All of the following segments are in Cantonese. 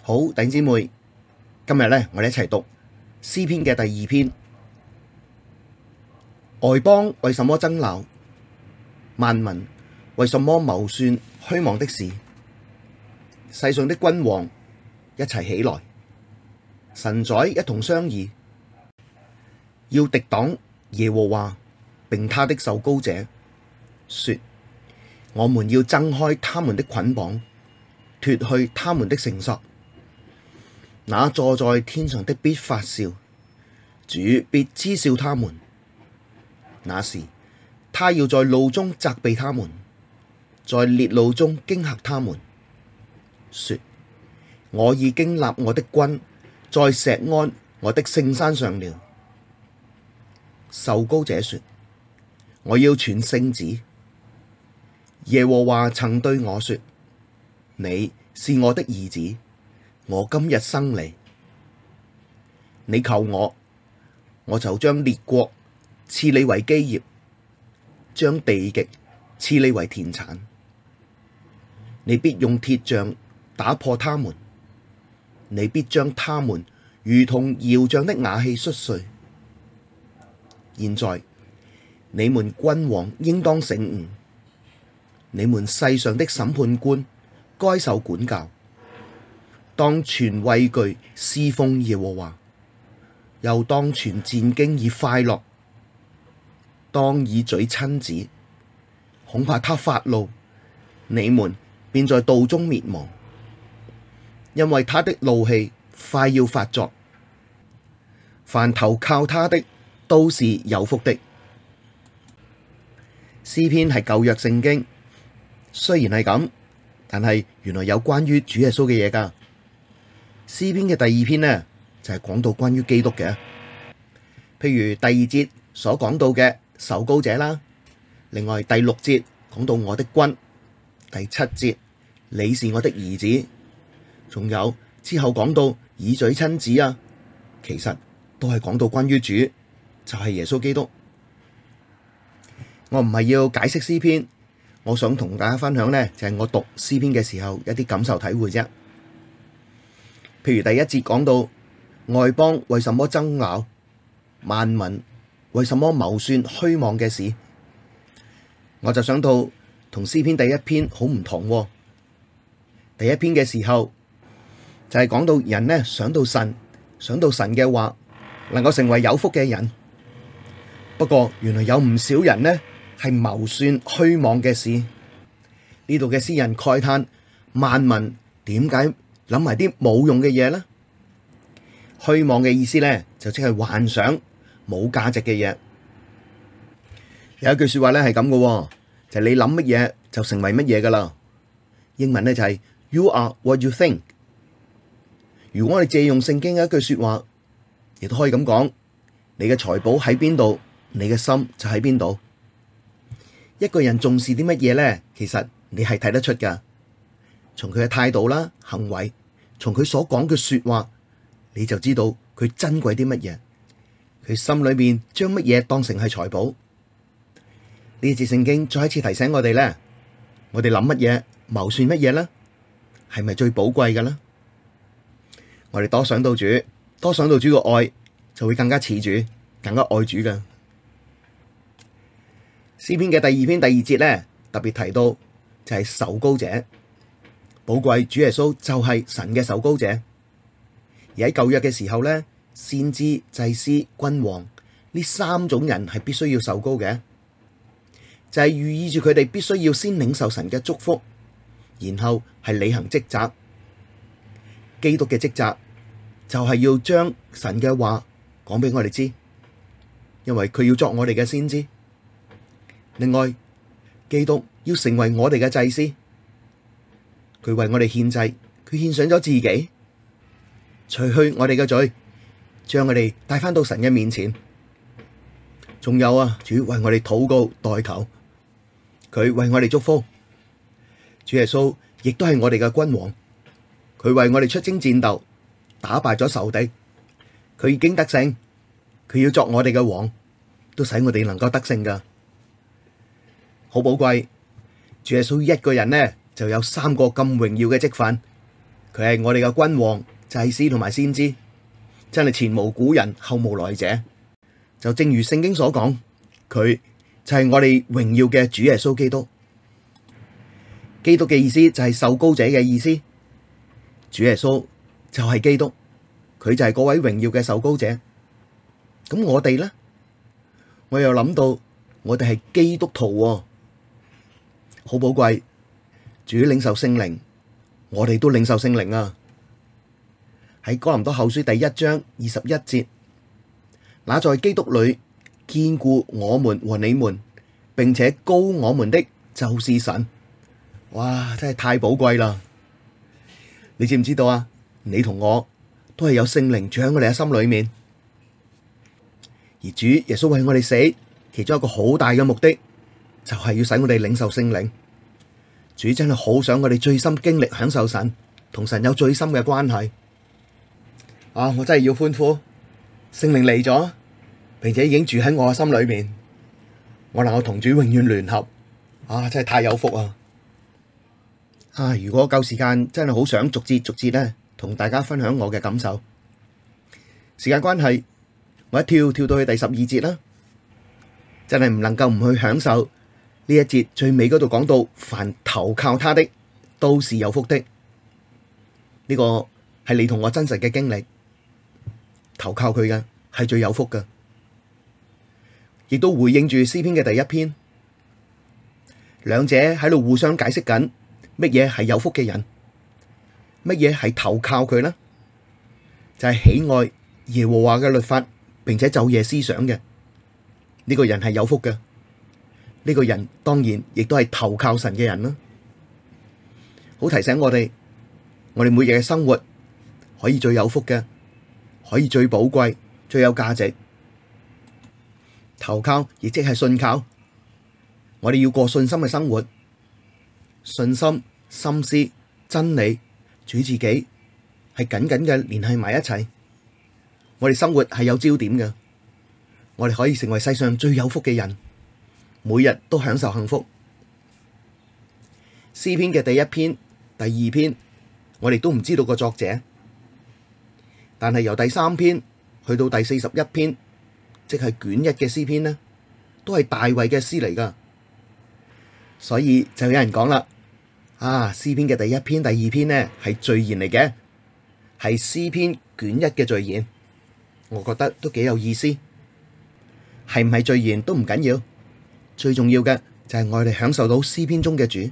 好，弟兄姊妹，今日咧，我哋一齊讀詩篇嘅第二篇。外邦為什麼爭鬧？萬民為什麼謀算虛妄的事？世上的君王一齊起來，臣宰一同商議，要敵擋耶和華並他的受膏者，說：我們要掙開他們的捆綁，脫去他們的繩索。那坐在天上的必發笑，主必嗤笑他們。那時，他要在怒中責備他們，在烈怒中驚嚇他們，說：我已經立我的君在錫安我的聖山上了。受膏者說：我要傳聖旨。耶和華曾對我說：你是我的兒子，我今日生你。你求我，我就將列國賜你為基業，將地極賜你為田產。你必用鐵杖打破他們，你必將他們如同窯匠的瓦器摔碎。現在你們君王應當醒悟，你們世上的審判官該受管教，當存畏懼侍奉耶和華，又當存戰兢以快樂，當以嘴親子，恐怕他發怒，你們便在道中滅亡，因為他的怒氣快要發作。凡投靠他的都是有福的。詩篇係舊約聖經，雖然係咁，但係原來有關於主耶穌嘅嘢㗎。詩篇嘅第二篇呢，就係講到關於基督嘅，譬如第二節所講到嘅受膏者啦，另外第六節講到我的君，第七節你是我的兒子，仲有之後講到以嘴親子啊，其實都係講到關於主，就係耶穌基督。我唔係要解釋詩篇，我想同大家分享呢，就係我讀詩篇嘅時候一啲感受體會啫。譬如第一節講到外邦為什麼爭拗，萬民為什麼謀算虛妄嘅事，我就想到同詩篇第一篇好唔同喎。第一篇嘅時候就係講到人呢，想到神嘅話，能夠成為有福嘅人。不過原來有唔少人呢係謀算虛妄嘅事。呢度嘅詩人慨嘆萬民點解諗埋啲冇用嘅嘢呢？虛妄嘅意思呢，就即係幻想冇價值嘅嘢。有一句說話呢係咁嘅，就係你諗乜嘢就成為乜嘢噶啦。英文呢就係 You are what you think。如果我哋借用聖經嘅一句說話，亦都可以咁講：你嘅財寶喺邊度，你嘅心就喺邊度。一個人重視啲乜嘢呢？其實你係睇得出噶，從佢嘅態度啦、行為，從佢所講嘅說話，你就知道佢珍貴啲乜嘢，佢心裏面將乜嘢當成係財寶。呢節聖經再一次提醒我哋咧，我哋諗乜嘢、謀算乜嘢呢？係咪最寶貴嘅呢？我哋多想到主，多想到主嘅愛，就會更加似主，更加愛主噶。詩篇嘅第二篇第二節咧，特別提到就係受膏者，寶貴主耶穌就係神嘅受膏者。而喺舊約嘅時候咧，先知、祭司、君王呢三種人係必須要受膏嘅，就係寓意住佢哋必須要先領受神嘅祝福，然後係履行職責。基督嘅職責就係要將神嘅話講俾我哋知，因為佢要作我哋嘅先知。另外，基督要成為我哋嘅祭司，佢為我哋獻祭，佢獻上咗自己，除去我哋嘅罪，將我哋帶返到神嘅面前。仲有啊，主為我哋禱告代求，佢為我哋祝福。主耶穌亦都係我哋嘅君王，佢為我哋出征戰鬥，打敗咗仇敵，佢已經得勝，佢要作我哋嘅王，都使我哋能夠得勝噶。好寶貴，主耶穌一個人呢就有三個咁榮耀嘅職分， 佢係我哋嘅君王、祭司同埋先知，真係前無古人後無來者。就正如聖經所講，佢就係我哋榮耀嘅主耶穌基督。基督嘅意思就係受膏者嘅意思，主耶穌就係基督，佢就係嗰位榮耀嘅受膏者。咁我哋呢？我又諗到我哋係基督徒喎，好寶貴。主領受聖靈，我哋都領受聖靈啊！喺哥林多後書第1章21節，那在基督裡堅固我們和你們，並且膏我們的，就是神。哇，真係太寶貴啦！你知唔知道啊？你同我都係有聖靈住喺我哋嘅心裡面，而主耶穌為我哋死，其中一個好大嘅目的，就係要使我哋領受聖靈。主真係好想我哋最深經歷享受神，同神有最深嘅關係。啊！我真係要歡呼，聖靈嚟咗，並且已經住喺我嘅心裡面，我能夠同主永遠聯合。啊！真係太有福啊！啊！如果夠時間，真係好想逐節咧，同大家分享我嘅感受。時間關係，我一跳到去第12節啦，真係唔能夠唔去享受呢一節最尾嗰度講到，凡投靠他的，都是有福的。呢個係你同我真實嘅經歷，投靠佢嘅係最有福嘅，亦都回應住詩篇嘅第1篇，兩者喺度互相解釋緊。乜嘢係有福嘅人？乜嘢係投靠佢呢？就係喜愛耶和華嘅律法，並且晝夜思想嘅呢個人係有福嘅。呢個人當然亦都係投靠神嘅人啦。好提醒我哋每日嘅生活可以最有福嘅，可以最寶貴、最有價值。投靠亦即係信靠，我哋要過信心嘅生活。信心、心思、真理、主自己係緊緊嘅聯繫埋一齊。我哋生活係有焦點嘅，我哋可以成為世上最有福嘅人，每日都享受幸福。詩篇嘅第1篇、第2篇，我哋都唔知道個作者，但係由第3篇去到第41篇，即係卷1嘅詩篇呢，都係大衛嘅詩嚟噶。所以就有人講啦，詩篇嘅第1篇、第2篇呢係序言嚟嘅，係詩篇卷1嘅序言。我覺得都幾有意思。係唔係序言都唔緊要，最重要嘅就係我哋享受到詩篇中嘅主。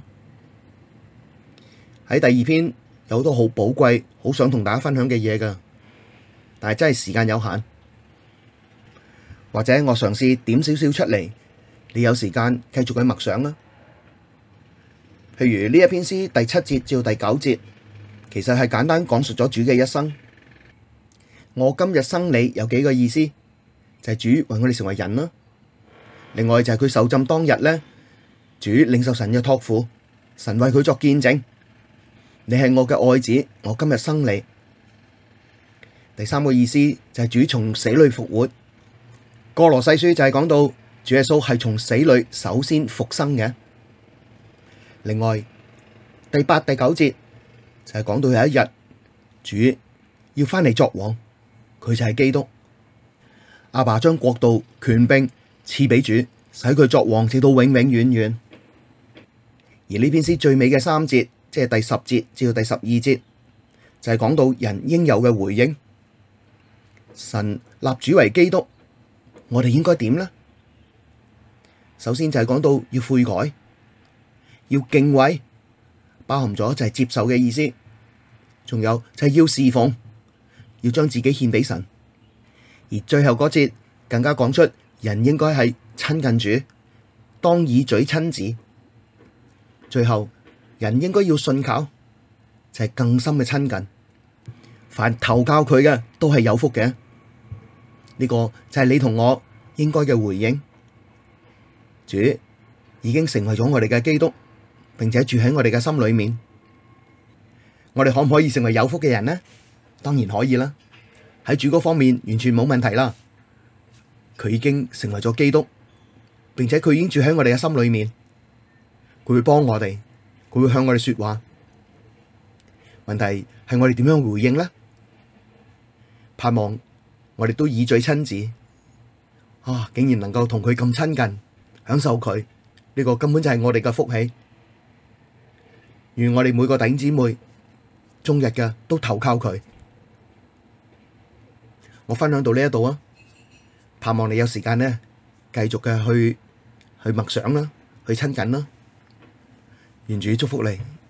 喺第2篇有好多好寶貴、好想同大家分享嘅嘢噶，但係真係時間有限，或者我嘗試點少少出嚟，你有時間繼續去默想啦。譬如呢一篇詩第7節至到第9節，其實係簡單講述咗主嘅一生。我今日生你有幾個意思，就係主為我哋成為人啦。另外就係佢受浸當日咧，主領受神嘅託付，神為佢作見證，你係我嘅愛子，我今日生你。第3個意思就係主從死裡復活。歌羅西書就係講到主耶穌係從死裡首先復生嘅。另外第8、第9節就係講到有一日主要翻嚟作王，佢就係基督。阿爸將國度權柄賜俾主，使佢作王直到永永遠遠。而呢篇詩最尾嘅3節，即係第10節至到第12節，就係講到人應有嘅回應。神立主為基督，我哋應該點呢？首先就係講到要悔改，要敬畏，包含咗就係接受嘅意思，仲有就係要侍奉，要將自己獻俾神。而最後嗰節更加講出人應該係親近主，當以嘴親子。最後人應該要信靠，就係更深嘅親近。凡投靠佢嘅都係有福嘅。呢個就係你同我應該嘅回應。主已經成為咗我哋嘅基督，並且住喺我哋嘅心裏面。我哋可唔可以成為有福嘅人呢？當然可以啦。喺主嗰方面完全冇問題啦。佢已經成為咗基督，並且佢已經住喺我哋嘅心裏面。佢會幫我哋，佢會向我哋說話。 問題係我哋點樣回應呢？盼望我哋都以嘴親子，竟然能夠同佢咁親近，享受佢，呢個根本就係我哋嘅福氣。願我哋每個弟兄姊妹終日嘅都投靠佢。我分享到呢一度啊，盼望你有時間呢，繼續嘅去默想啦，去親近啦。願主祝福你。